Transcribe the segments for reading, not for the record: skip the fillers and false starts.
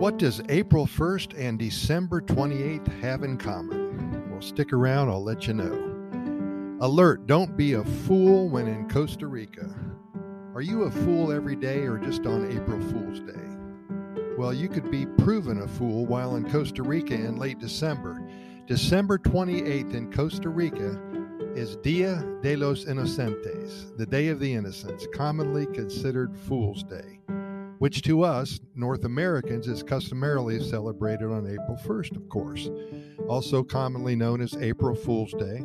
What does April 1st and December 28th have in common? Well, stick around, I'll let you know. Alert, don't be a fool when in Costa Rica. Are you a fool every day or just on April Fool's Day? Well, you could be proven a fool while in Costa Rica in late December. December 28th in Costa Rica is Dia de los Inocentes, the Day of the Innocents, commonly considered Fool's Day, which to us, North Americans, is customarily celebrated on April 1st, of course. Also commonly known as April Fool's Day.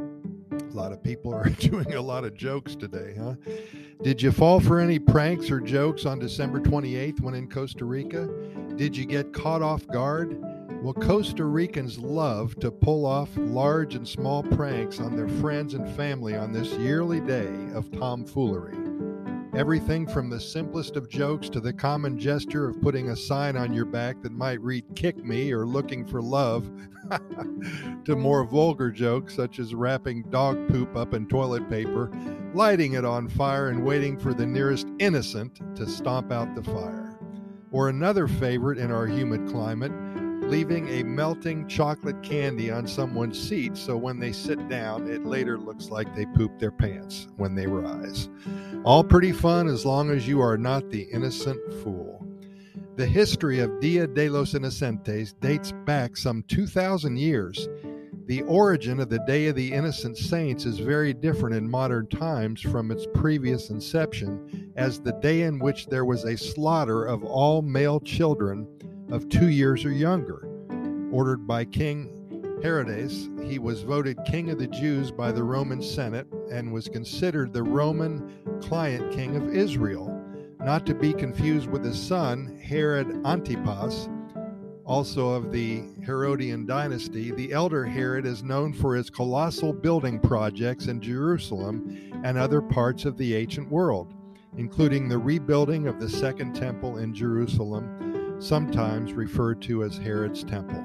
A lot of people are doing a lot of jokes today, huh? Did you fall for any pranks or jokes on December 28th when in Costa Rica? Did you get caught off guard? Well, Costa Ricans love to pull off large and small pranks on their friends and family on this yearly day of tomfoolery. Everything from the simplest of jokes to the common gesture of putting a sign on your back that might read "kick me" or "looking for love," to more vulgar jokes such as wrapping dog poop up in toilet paper, lighting it on fire, and waiting for the nearest innocent to stomp out the fire. Or another favorite in our humid climate, leaving a melting chocolate candy on someone's seat so when they sit down, it later looks like they pooped their pants when they rise. All pretty fun as long as you are not the innocent fool. The history of Dia de los Inocentes dates back some 2,000 years. The origin of the Day of the Innocent Saints is very different in modern times from its previous inception as the day in which there was a slaughter of all male children of 2 years or younger. Ordered by King Herodes, he was voted King of the Jews by the Roman Senate and was considered the Roman client king of Israel, not to be confused with his son, Herod Antipas, also of the Herodian dynasty. The elder Herod is known for his colossal building projects in Jerusalem and other parts of the ancient world, including the rebuilding of the Second Temple in Jerusalem, sometimes referred to as Herod's Temple.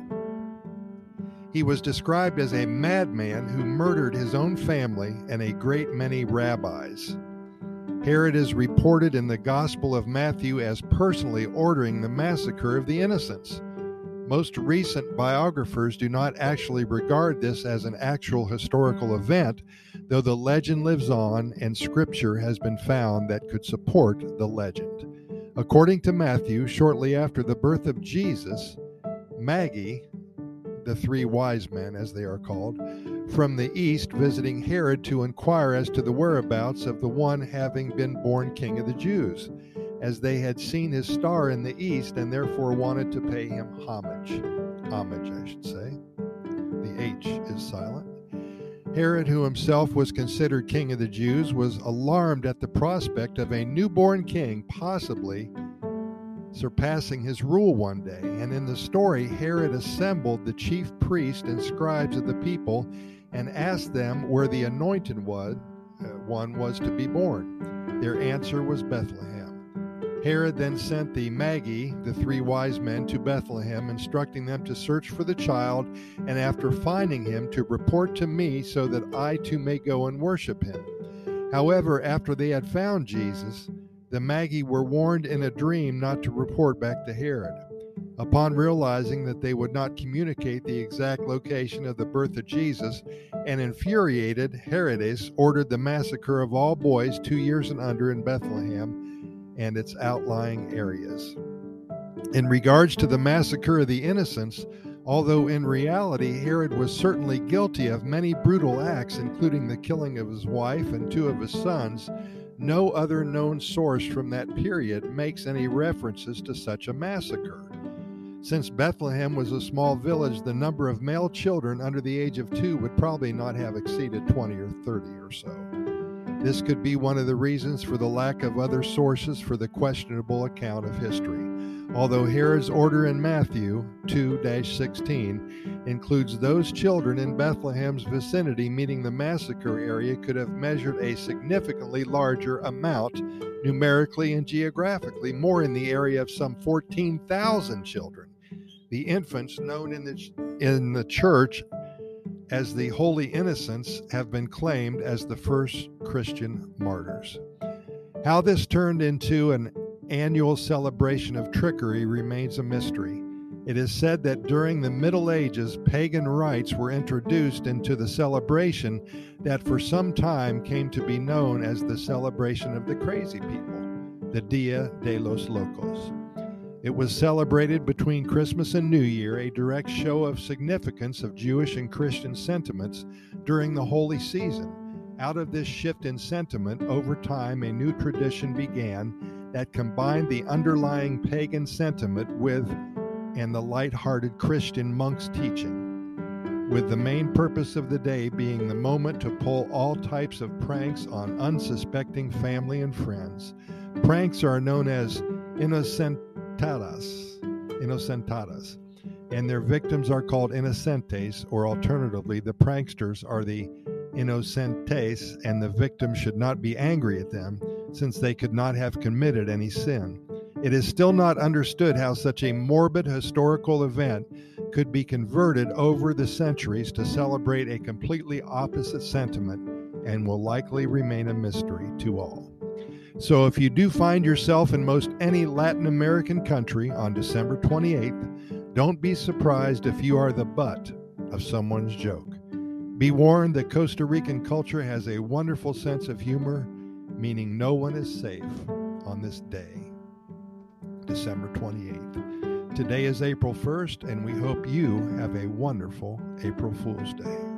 He was described as a madman who murdered his own family and a great many rabbis. Herod is reported in the Gospel of Matthew as personally ordering the massacre of the innocents. Most recent biographers do not actually regard this as an actual historical event, though the legend lives on and scripture has been found that could support the legend. According to Matthew, shortly after the birth of Jesus, Magi, the three wise men as they are called, from the east visiting Herod to inquire as to the whereabouts of the one having been born King of the Jews, as they had seen his star in the east and therefore wanted to pay him homage. Homage, I should say. The H is silent. Herod, who himself was considered King of the Jews, was alarmed at the prospect of a newborn king possibly surpassing his rule one day. And in the story, Herod assembled the chief priests and scribes of the people and asked them where the anointed one was to be born. Their answer was Bethlehem. Herod then sent the Magi, the three wise men, to Bethlehem, instructing them to search for the child, and after finding him, to report to me so that I too may go and worship him. However, after they had found Jesus, the Magi were warned in a dream not to report back to Herod. Upon realizing that they would not communicate the exact location of the birth of Jesus, and infuriated, Herodes ordered the massacre of all boys 2 years and under in Bethlehem and its outlying areas. In regards to the massacre of the innocents, although in reality Herod was certainly guilty of many brutal acts, including the killing of his wife and 2 of his sons, no other known source from that period makes any references to such a massacre. Since Bethlehem was a small village, the number of male children under the age of 2 would probably not have exceeded 20 or 30 or so. This could be one of the reasons for the lack of other sources for the questionable account of history. Although Herod's order in Matthew 2-16 includes those children in Bethlehem's vicinity, meaning the massacre area could have measured a significantly larger amount numerically and geographically, more in the area of some 14,000 children. The infants known in the church as the Holy Innocents have been claimed as the first Christian martyrs. How this turned into an annual celebration of trickery remains a mystery. It is said that during the Middle Ages, pagan rites were introduced into the celebration that for some time came to be known as the celebration of the crazy people, the Dia de los Locos. It was celebrated between Christmas and New Year, a direct show of significance of Jewish and Christian sentiments during the holy season. Out of this shift in sentiment, over time, a new tradition began that combined the underlying pagan sentiment with and the light-hearted Christian monk's teaching, with the main purpose of the day being the moment to pull all types of pranks on unsuspecting family and friends. Pranks are known as inocentadas, and their victims are called inocentes, or alternatively, the pranksters are the inocentes, and the victim should not be angry at them, since they could not have committed any sin. It is still not understood how such a morbid historical event could be converted over the centuries to celebrate a completely opposite sentiment, and will likely remain a mystery to all. So if you do find yourself in most any Latin American country on December 28th, don't be surprised if you are the butt of someone's joke. Be warned that Costa Rican culture has a wonderful sense of humor, meaning no one is safe on this day, December 28th. Today is April 1st, and we hope you have a wonderful April Fool's Day.